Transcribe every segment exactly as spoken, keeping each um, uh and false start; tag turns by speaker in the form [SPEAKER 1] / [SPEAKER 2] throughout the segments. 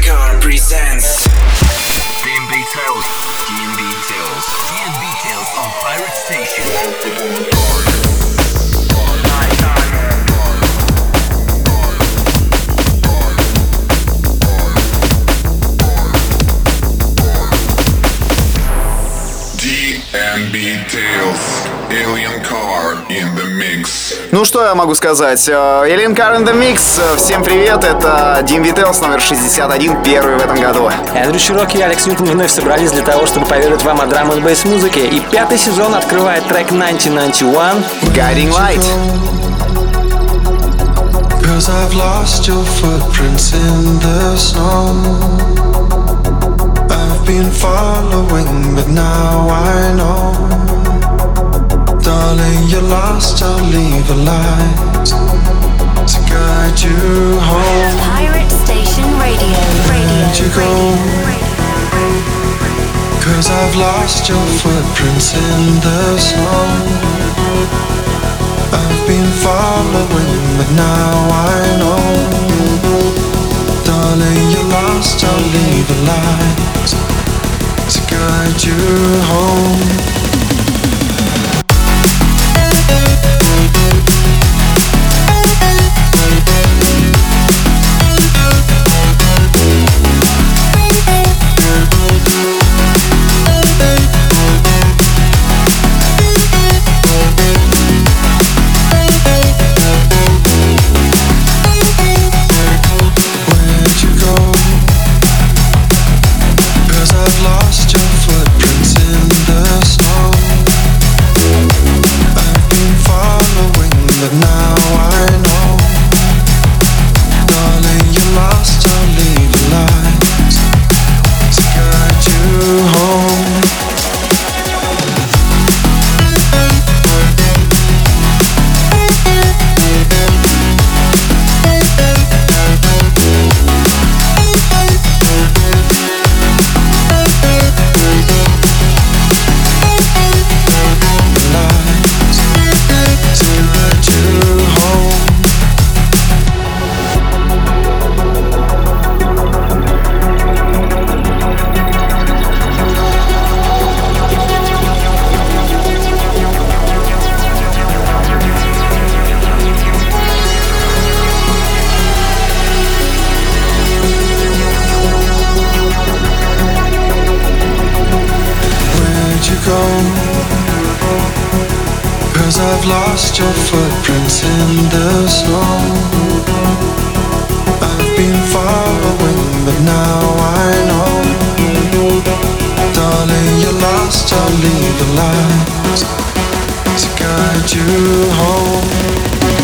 [SPEAKER 1] Car presents
[SPEAKER 2] ди эм би Tales, ди эм би Tales, ди эм би Tales on Pirate Station.
[SPEAKER 3] ди эм би Tales, Alien Car in the Mix.
[SPEAKER 4] Ну что я могу сказать? Alien Car in the Mix. Всем привет, это ди эм би Tales номер шестьдесят один, первый в этом году.
[SPEAKER 5] Эндрю Чироки и Алекс Ньютон вновь собрались для того, чтобы поведать вам о драм н бейс музыке. И пятый сезон открывает трек тысяча девятьсот девяносто один
[SPEAKER 4] Guiding Light.
[SPEAKER 6] Cause I've lost your footprints in the snow. I've been following, but now I know. Darling, you're lost, I'll leave a light to guide you home.
[SPEAKER 7] Pirate Station Radio. Radio.
[SPEAKER 6] Where'd you go? Cause I've lost your footprints in the snow. I've been following, but now I know. Darling, you're lost, I'll leave a light to guide you home. I've lost your footprints in the snow. I've been following, but now I know. Darling, you're lost, I'll leave a light to guide you home.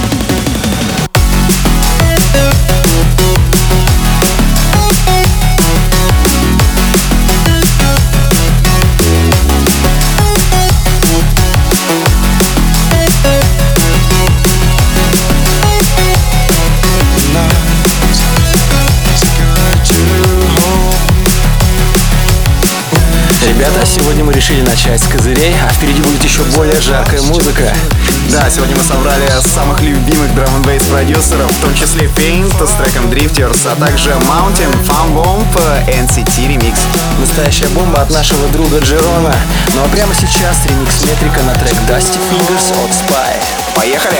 [SPEAKER 5] Ребята, сегодня мы решили начать с козырей, а впереди будет еще более жаркая музыка.
[SPEAKER 4] Да, сегодня мы собрали самых любимых драм н бейс продюсеров, в том числе Paint с треком Drifters, а также Mountain, Fun Bomb, эн си ти ремикс.
[SPEAKER 5] Настоящая бомба от нашего друга Джерона. Ну а прямо сейчас ремикс Метрика на трек Dusty Fingers от Spy.
[SPEAKER 4] Поехали!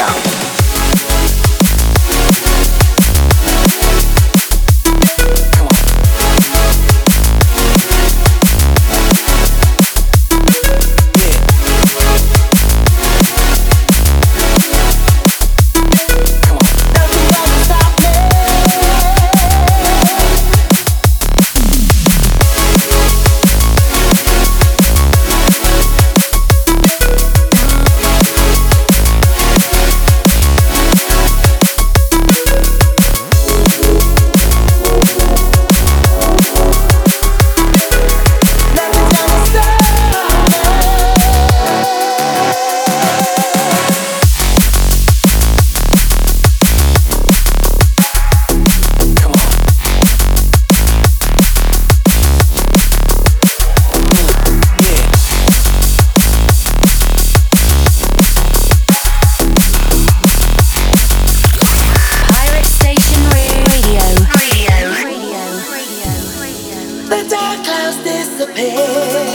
[SPEAKER 1] The dark clouds disappear.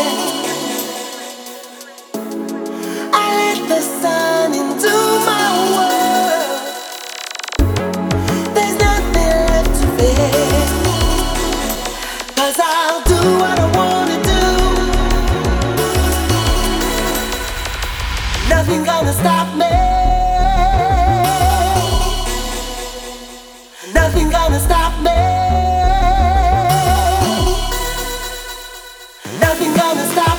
[SPEAKER 1] I let the sun into my world. There's nothing left to fear, 'cause I'll do what I wanna do. Nothing gonna stop me. Nothing gonna stop me. Nothing gonna stop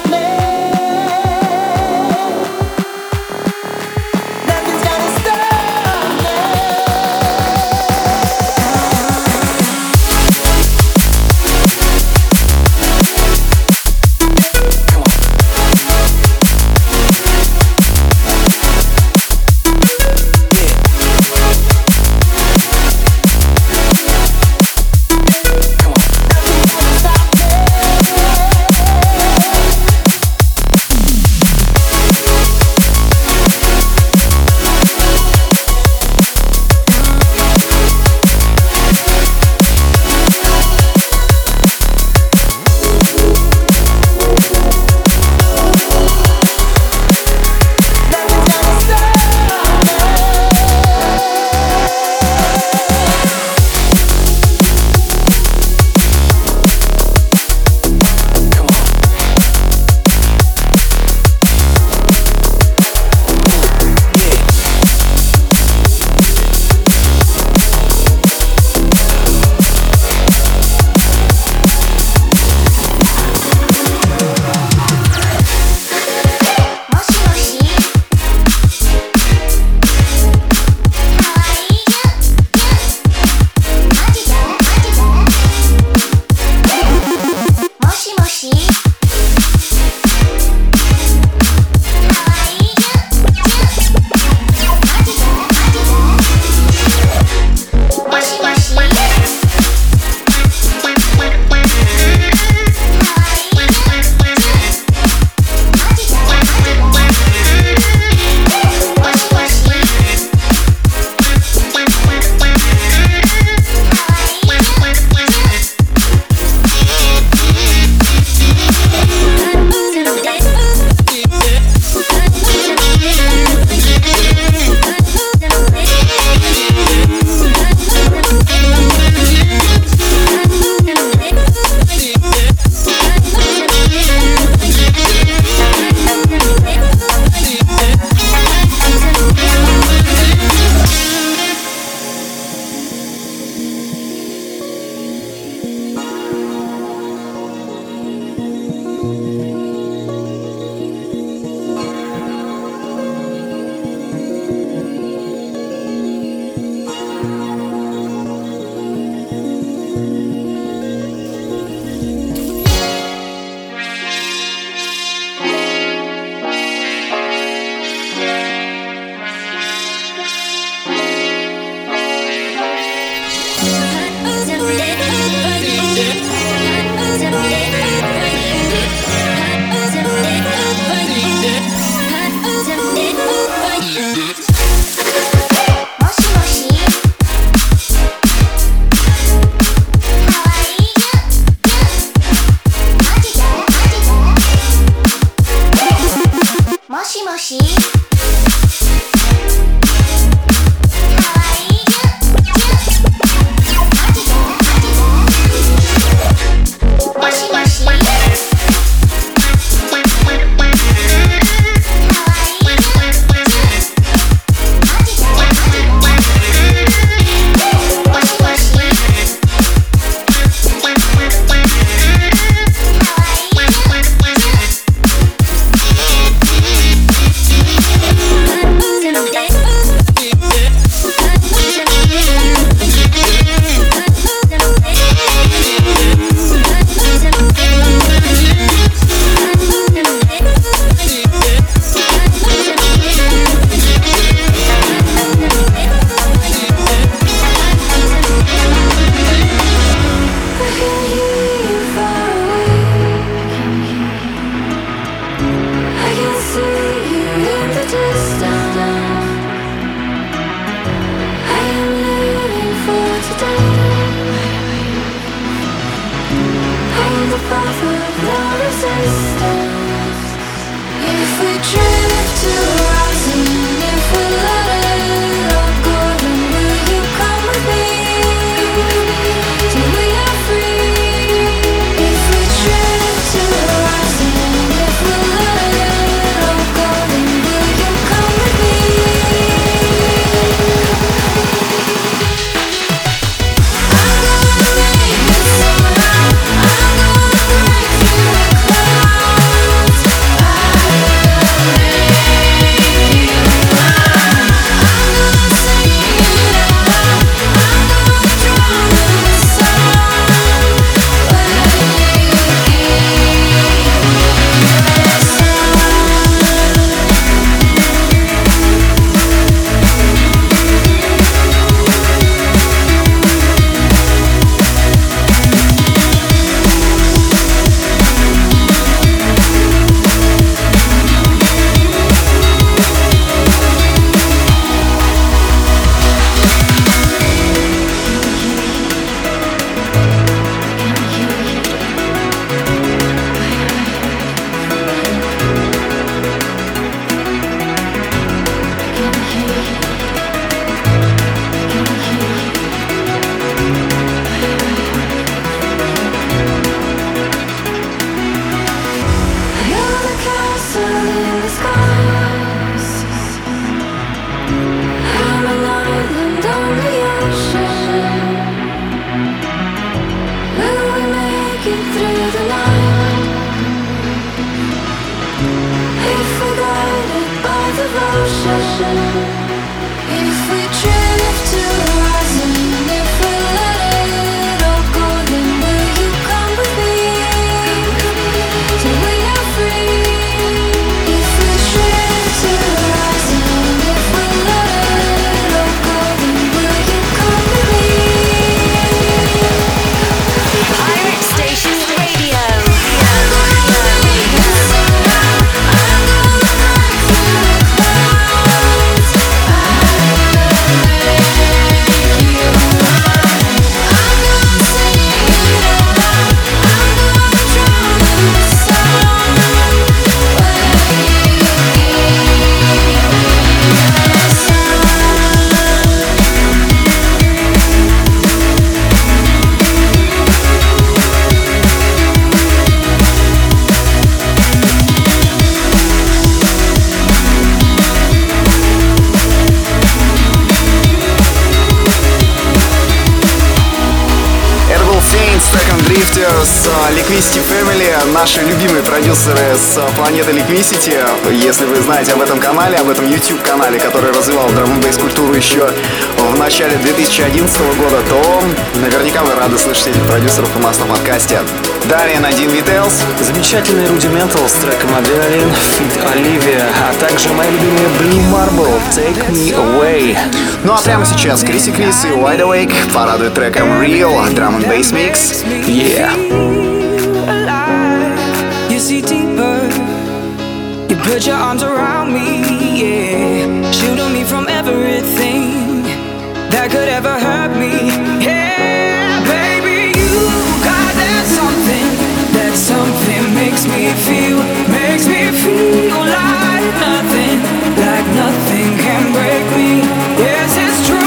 [SPEAKER 4] Drifters, Liquicity Family, наши любимые продюсеры с планеты Liquicity. Если вы знаете об этом канале, об этом YouTube-канале, который развивал драм-н-бейс культуру еще в начале две тысячи одиннадцатого года, то наверняка вы рады слышать этих продюсеров у нас на подкасте. Далее на Дин Vitails.
[SPEAKER 5] Замечательный Rudimental с треком Adrenaline, Feat Olivia, а также мои любимые Blue Marble, Take Me Away.
[SPEAKER 4] Ну а прямо сейчас Криси Крис и Wide Awake порадуют треком Real, Drum-н-Bass Mix.
[SPEAKER 5] Yeah.
[SPEAKER 8] You see deeper. You put your arms around me, yeah. Shielding me from everything that could ever hurt me. Yeah, baby, you got that something. That something makes me feel, makes me feel like nothing, like nothing can break me. Yes, it's true.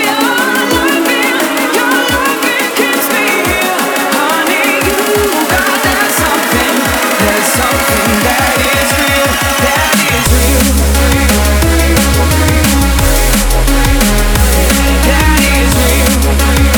[SPEAKER 8] Something that is real, that is real, that is real.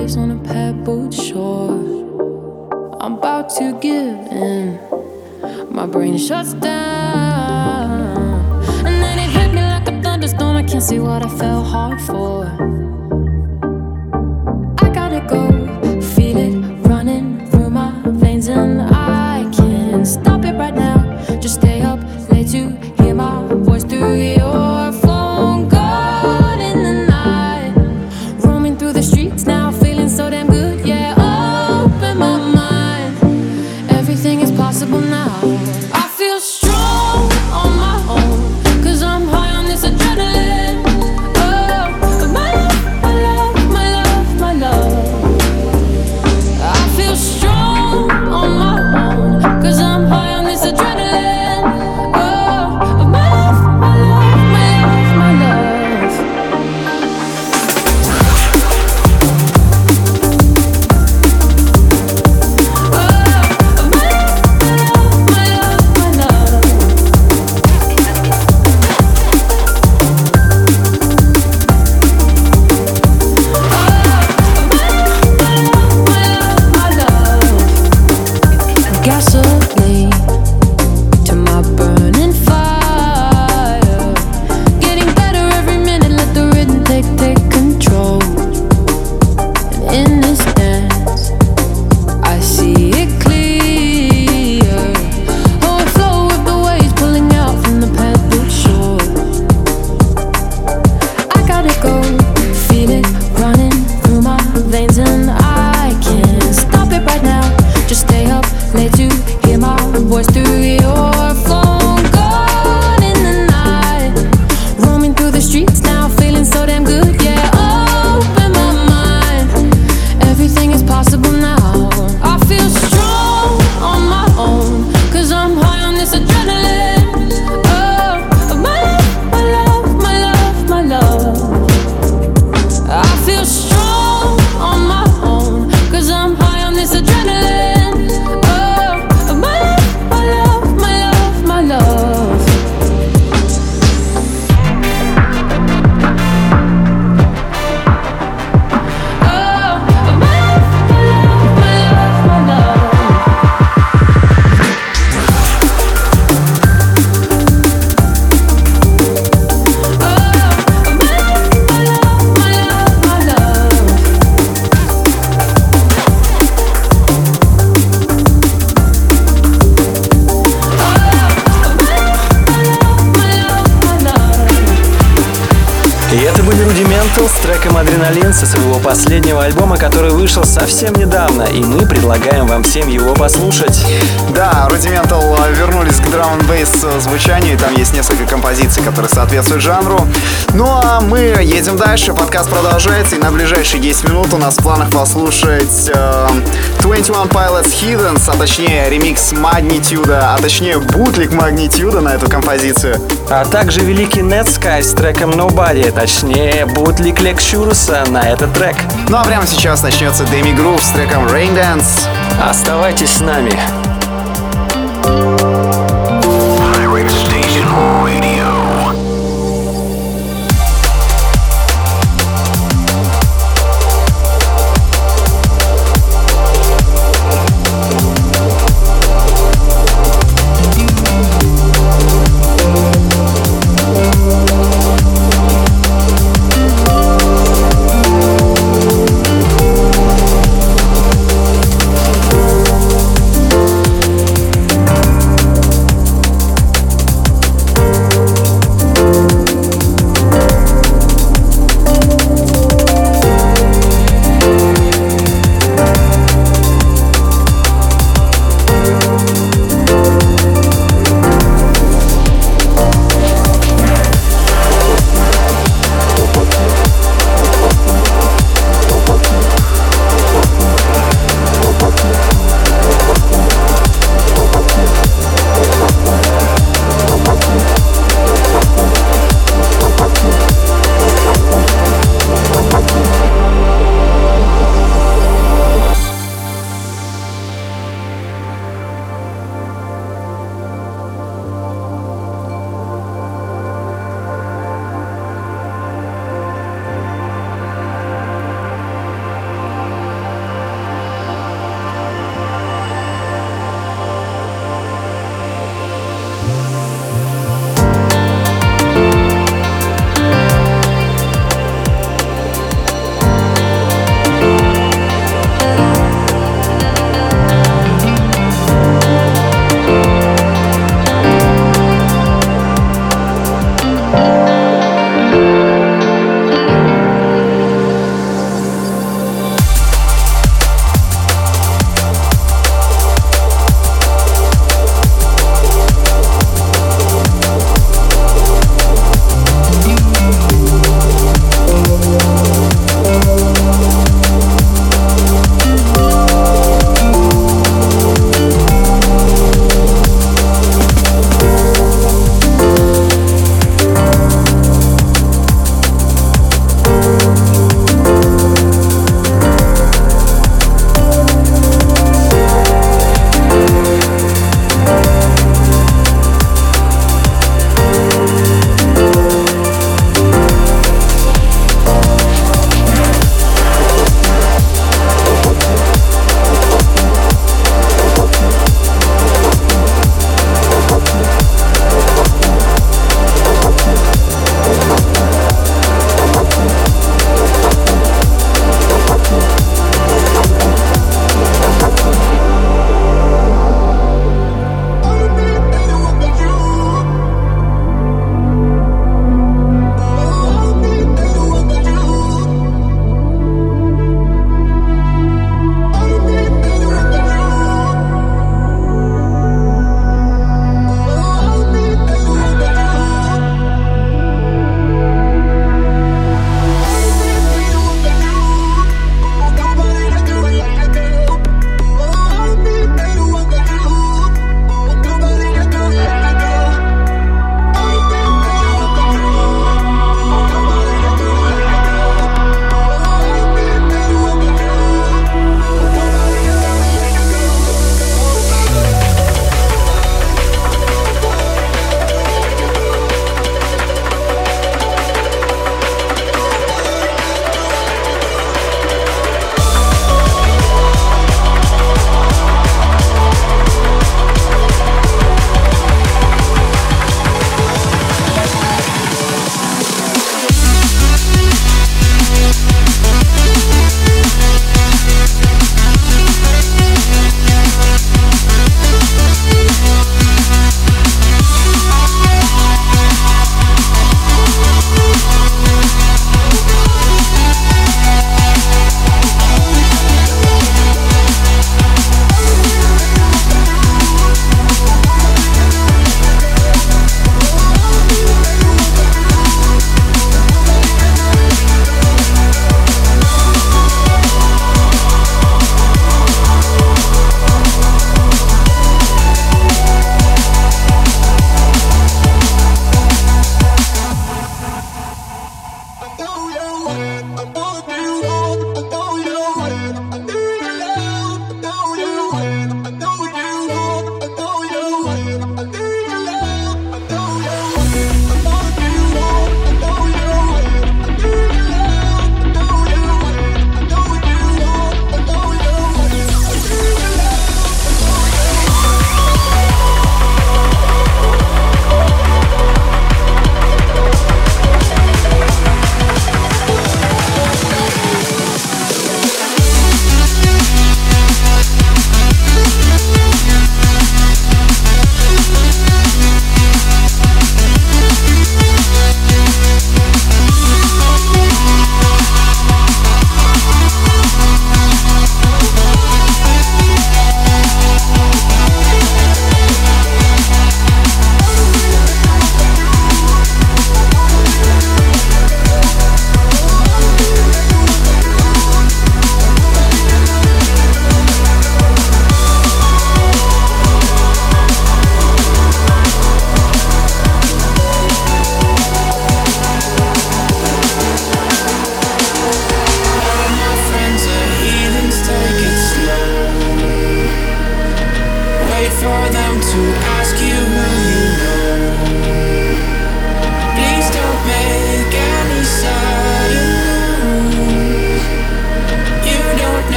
[SPEAKER 9] waves on a pebbled shore. I'm about to give in. My brain shuts down, and then it hit me like a thunderstorm. I can't see what I fell hard for. I gotta go, feel it running through my veins, and I can't stop it right now. Just stay up late to hear my voice through your phone. Gone in the night, roaming through the streets now, feeling so damn good. Yeah, open my mind. Everything is possible now. I feel strong on my own, 'cause I'm high on this adrenaline. Oh, my love, my love, my love, my love. I feel strong on my own, 'cause I'm high on this adrenaline. Oh, my love, my love, my love, my love. Gasoline to my burning fire, getting better every minute. Let the rhythm take take control. And in this dance, I see it clear. Oh, I flow with the waves pulling out from the pebbled shore. I gotta go, feel it running through my veins, and I can't stop it right now. Just stay up late to hear my voice through your phone. Gone in the night, roaming through the streets now, feeling so damn good. Yeah, open my mind. Everything is possible now. I feel strong on my own, 'cause I'm high on this adrenaline. Oh, my love, my love, my love, my love. I feel strong on my own, 'cause I'm high on this adrenaline. Oh, my love, my love, my love, my love. Oh, my love, my love, my love, my love.
[SPEAKER 5] И это были Rudimental с треком «Адреналин» со своего последнего альбома, который вышел совсем недавно, и мы предлагаем вам всем его послушать.
[SPEAKER 4] Да, Rudimental вернулись к драм н бейс звучанию, и там есть несколько композиций, которые соответствуют жанру. Ну а мы едем дальше, подкаст продолжается, и на ближайшие десять минут у нас в планах послушать э, двадцать один Pilots Hiddens, а точнее ремикс Magnitude, а точнее бутлик Magnitude на эту композицию.
[SPEAKER 5] А также великий Netsky с треком Nobody, точнее бутлик Lectureса на этот трек.
[SPEAKER 4] Ну а прямо сейчас начнется Demi Groove с треком Rain Dance.
[SPEAKER 5] Оставайтесь с нами.
[SPEAKER 2] Pirate Station Radio.
[SPEAKER 9] Oh,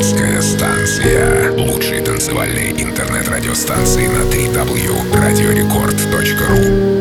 [SPEAKER 3] Пиратская станция. Лучшие танцевальные интернет-радиостанции на дабл ю дабл ю дабл ю точка радиорекорд точка ру.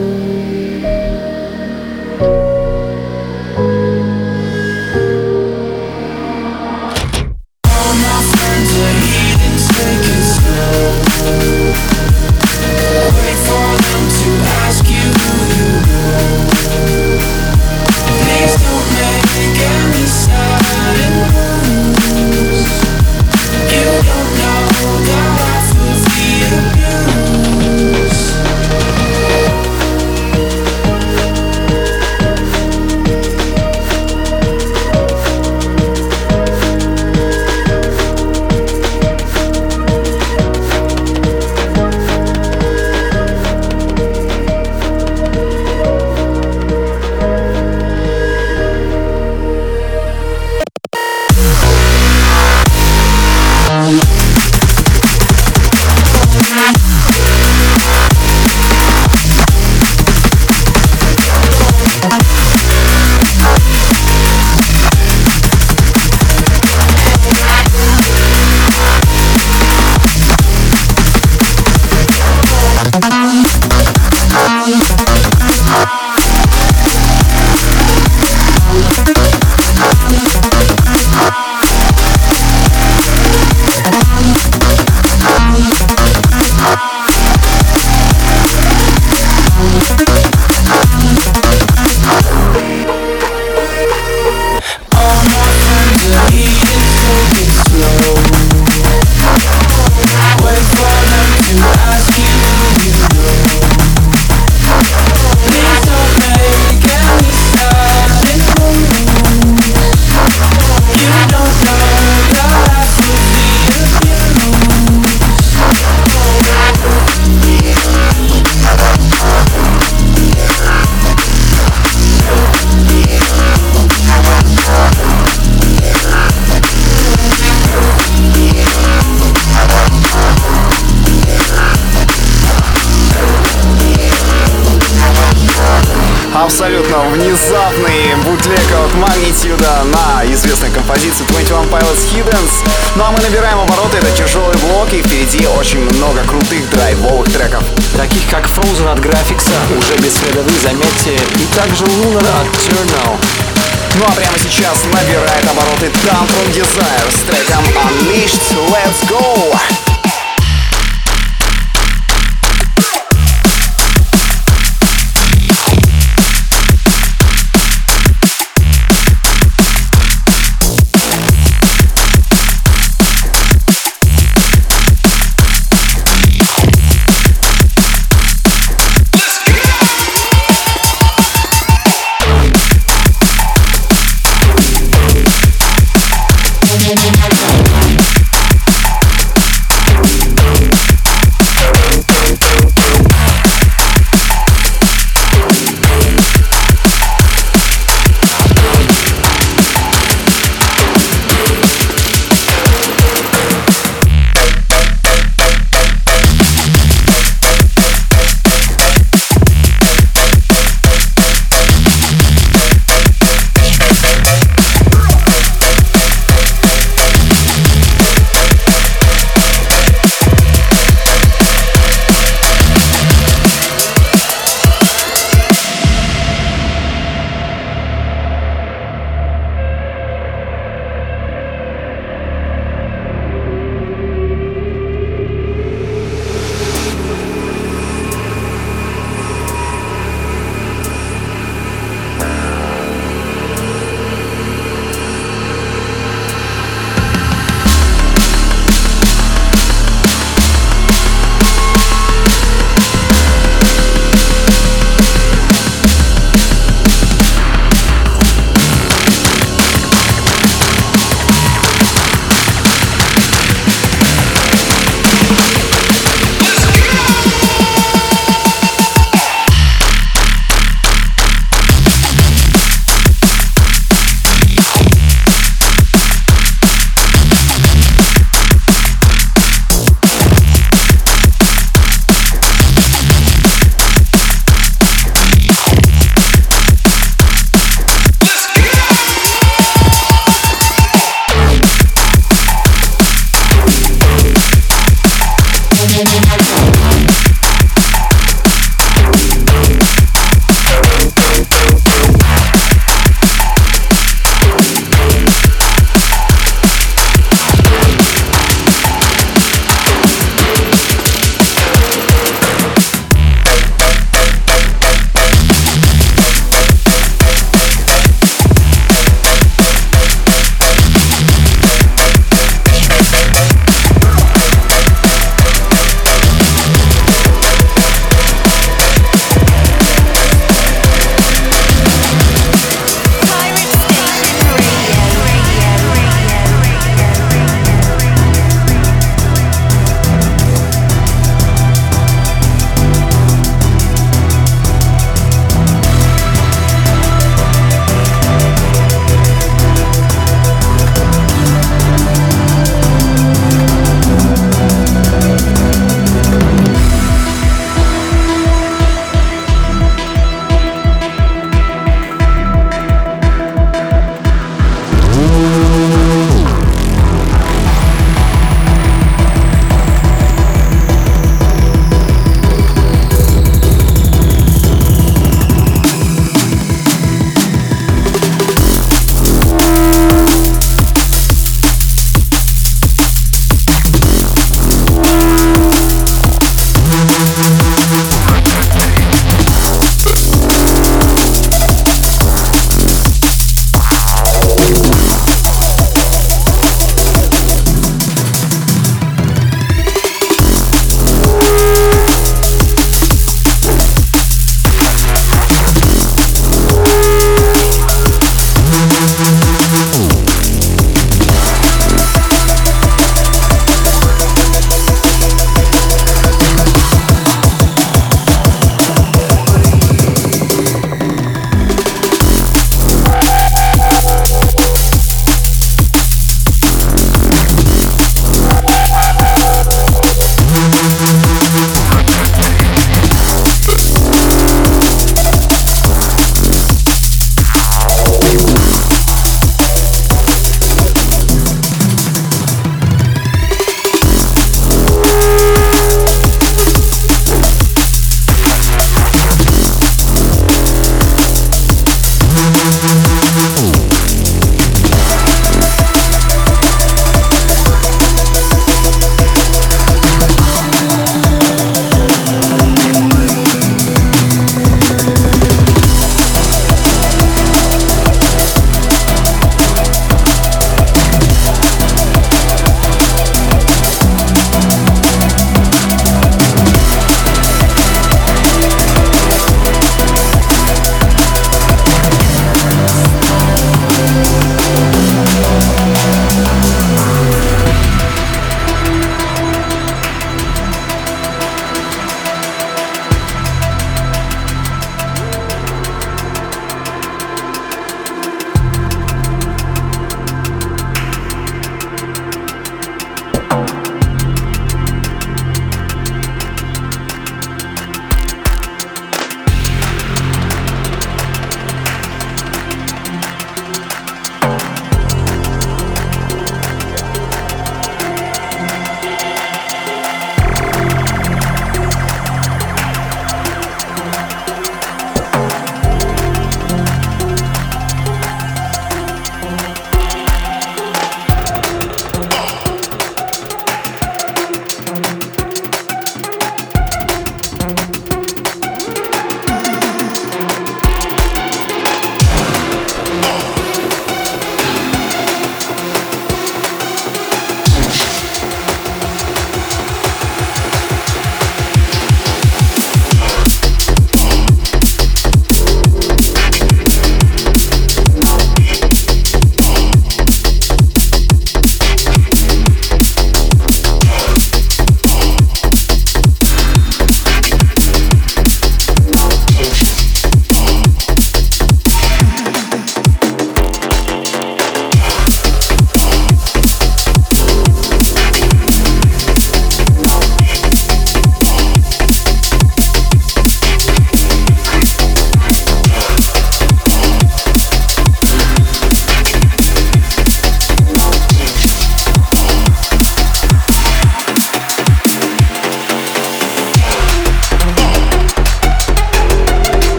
[SPEAKER 4] Абсолютно внезапный бутлег от Magnitude на известной композиции двадцать один Pilots Hiddens. Ну а мы набираем обороты, это тяжелый блок, и впереди очень много крутых драйвовых треков.
[SPEAKER 5] Таких как Frozen от Graphics, уже без следа вы, заметьте, и также Lunar от Turnal.
[SPEAKER 4] Ну а прямо сейчас набирает обороты Tantrum Desire с треком Unleashed. Let's go!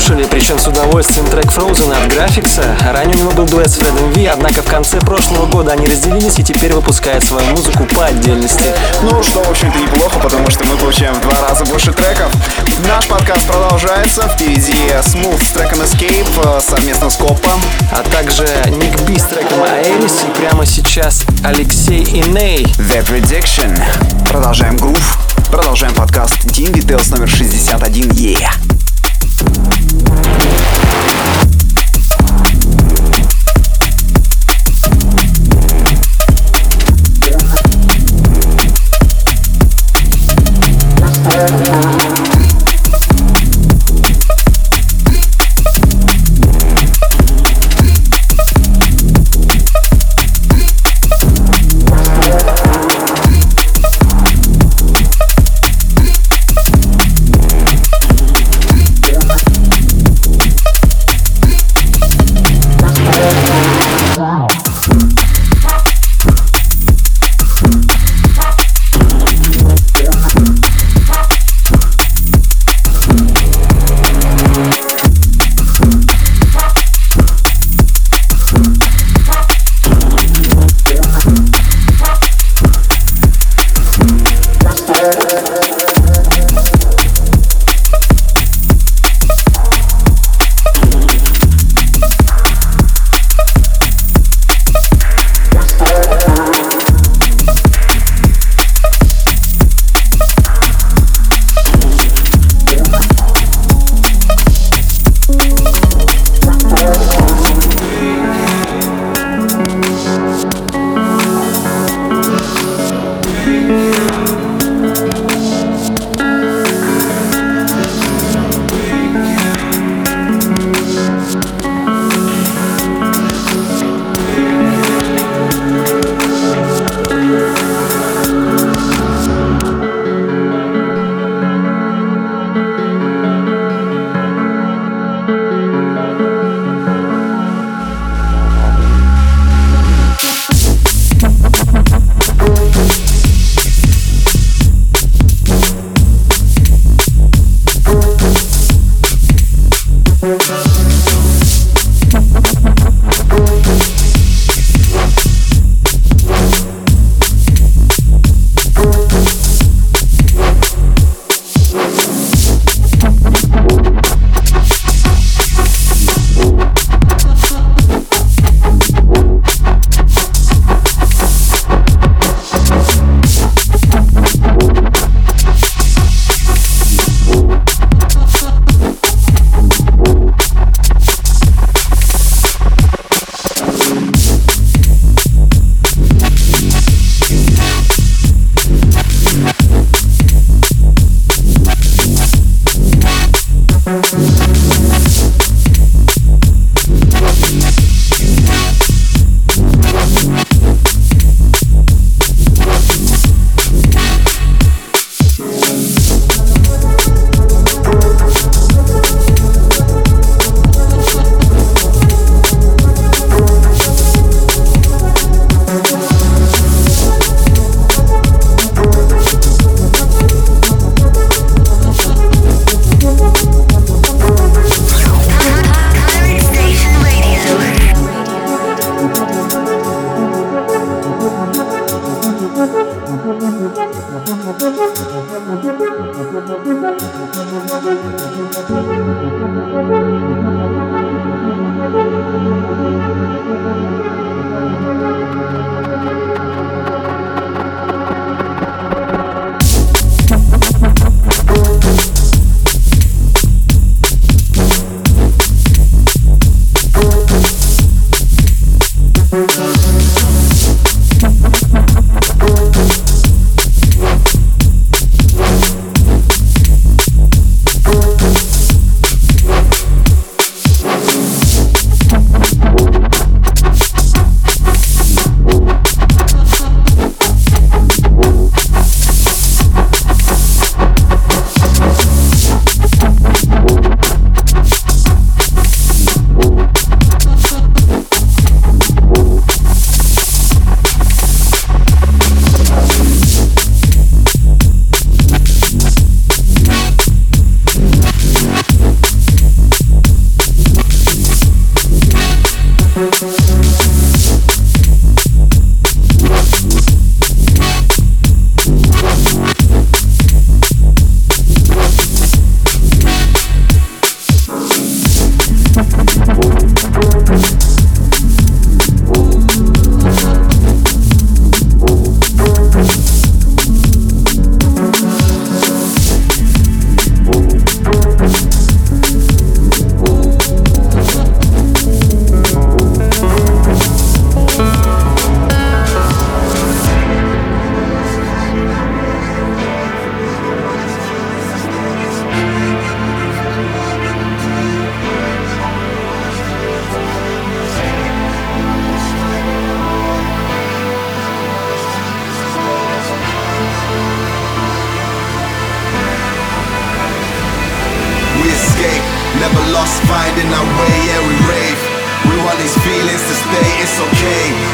[SPEAKER 5] послушали, причем с удовольствием, трек Frozen от Graphics. Ранее у него был дуэт с Фредом Ви, однако в конце прошлого года они разделились и теперь выпускают свою музыку по отдельности.
[SPEAKER 4] Ну, что, в общем-то, неплохо, потому что мы получаем в два раза больше треков. Наш подкаст продолжается. Впереди Smooth с треком Escape совместно с Коппом.
[SPEAKER 5] А также Ник Би с треком Aeris и прямо сейчас Алексей и Ней.
[SPEAKER 4] The Prediction. Продолжаем грув. Продолжаем подкаст ди эм ви Tales номер шестьдесят один. Yeah.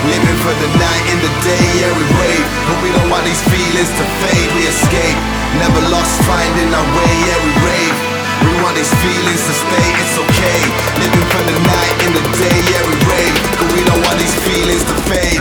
[SPEAKER 10] living for the night and the day, yeah we rave. But we don't want these feelings to fade, we escape. Never lost, finding our way, yeah we rave. We want these feelings to stay, it's okay. Living for the night and the day, yeah we rave. But we don't want these feelings to fade.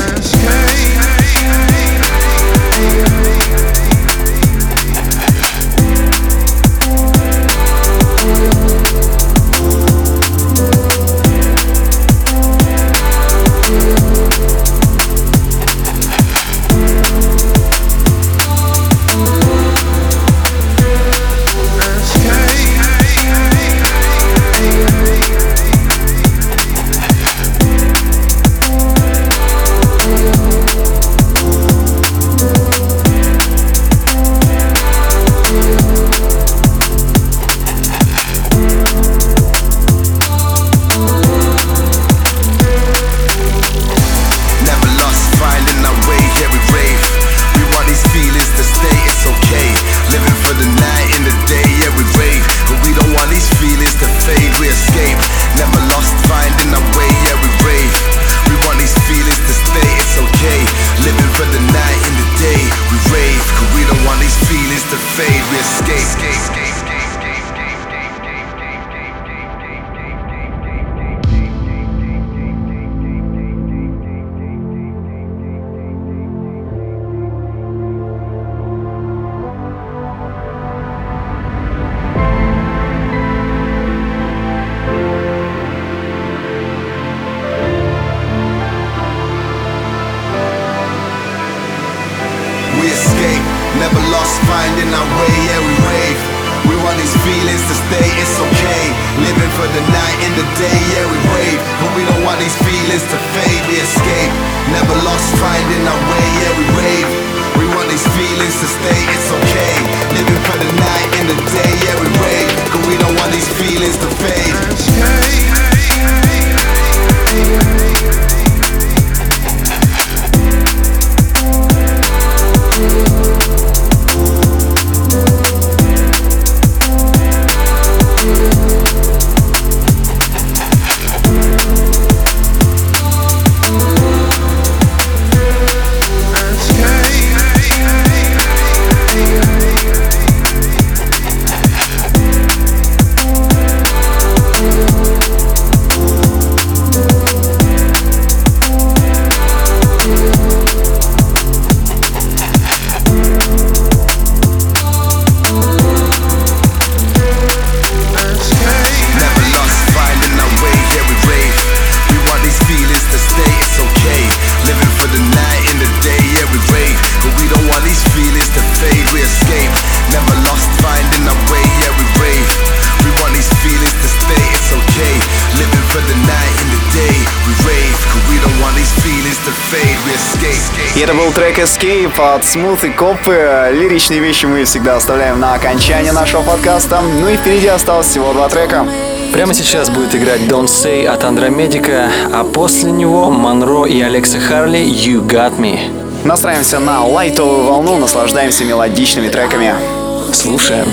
[SPEAKER 4] Это был трек Escape от Smooth и Копы. Лиричные вещи мы всегда оставляем на окончание нашего подкаста. Ну и впереди осталось всего два трека.
[SPEAKER 5] Прямо сейчас будет играть Don't Say от Андромедика, а после него Монро и Алекса Харли You Got Me.
[SPEAKER 4] Настраиваемся на лайтовую волну, наслаждаемся мелодичными треками.
[SPEAKER 5] Слушаем.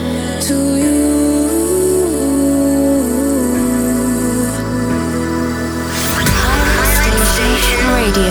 [SPEAKER 7] Radio.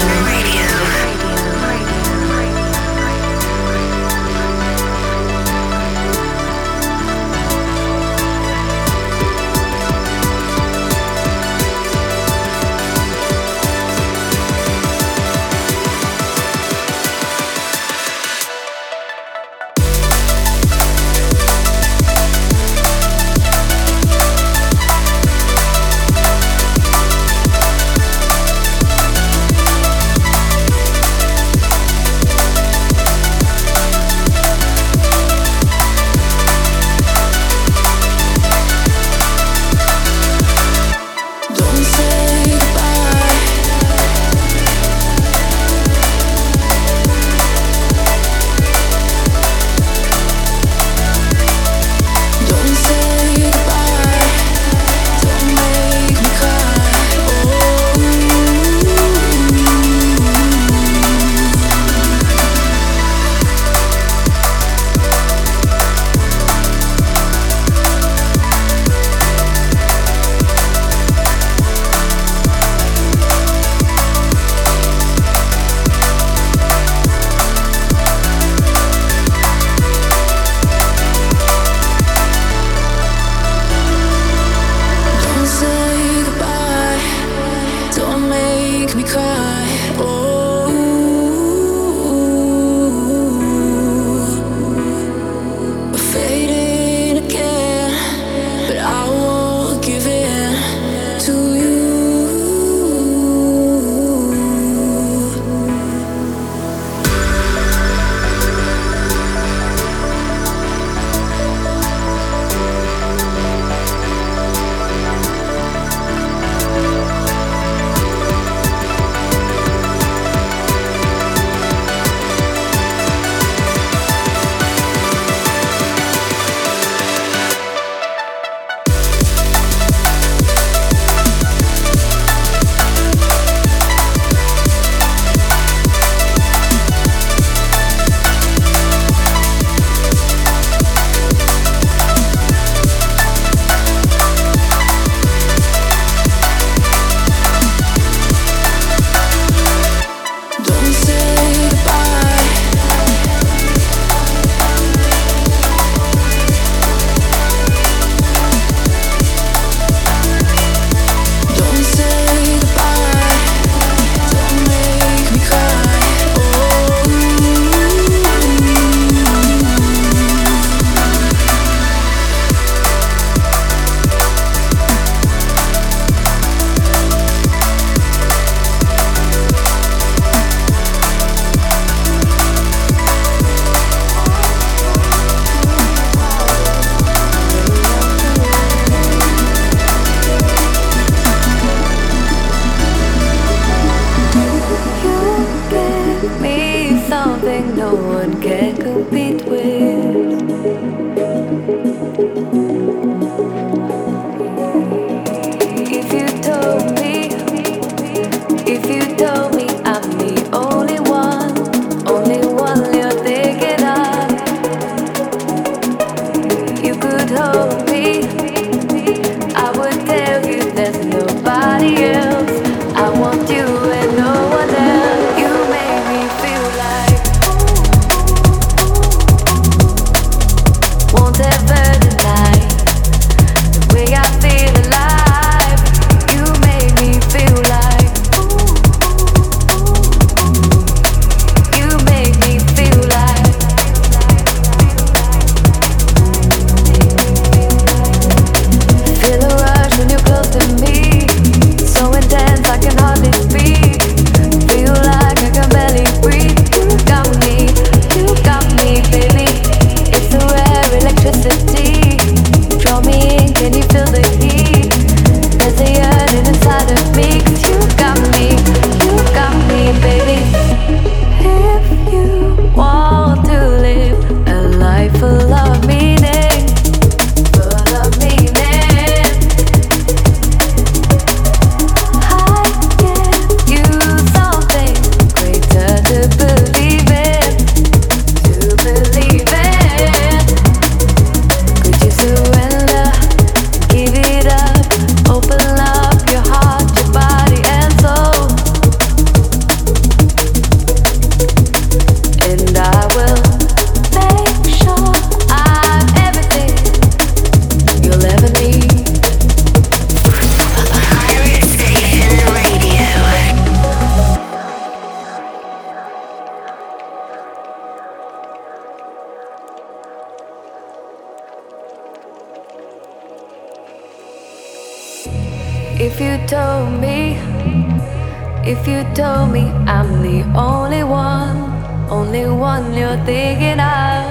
[SPEAKER 9] If you told me, if you told me I'm the only one, only one you're thinking of,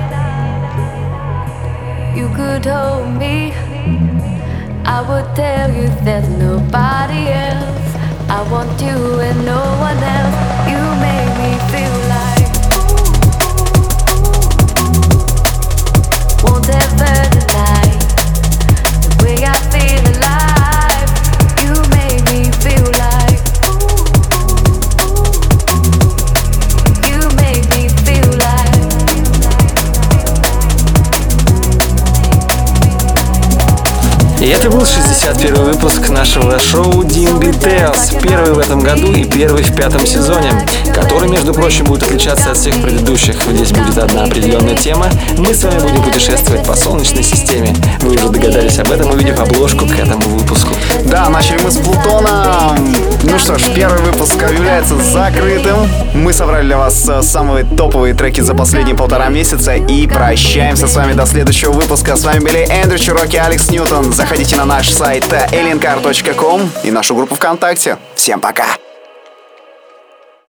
[SPEAKER 9] you could hold me, I would tell you there's nobody else. I want you and no one else. You make me feel like won't ever deny the way I feel alive. You make me feel like you make me feel like.
[SPEAKER 5] И это был шестьдесят первый выпуск нашего шоу ди энд би Tales, первый в этом году и первый в пятом сезоне, который, между прочим, будет отличаться от всех предыдущих. Здесь будет одна определенная тема. Мы с вами будем путешествовать по Солнечной системе. Вы уже догадались об этом, увидев обложку к этому выпуску.
[SPEAKER 4] Да, начали мы с Плутона. Ну что ж, первый выпуск объявляется закрытым. Мы собрали для вас самые топовые треки за последние полтора месяца и прощаемся с вами до следующего выпуска. С вами были Эндрю Чироки, Алекс Ньютон. Заходите на наш сайт alien car точка ком и нашу группу ВКонтакте. Всем пока!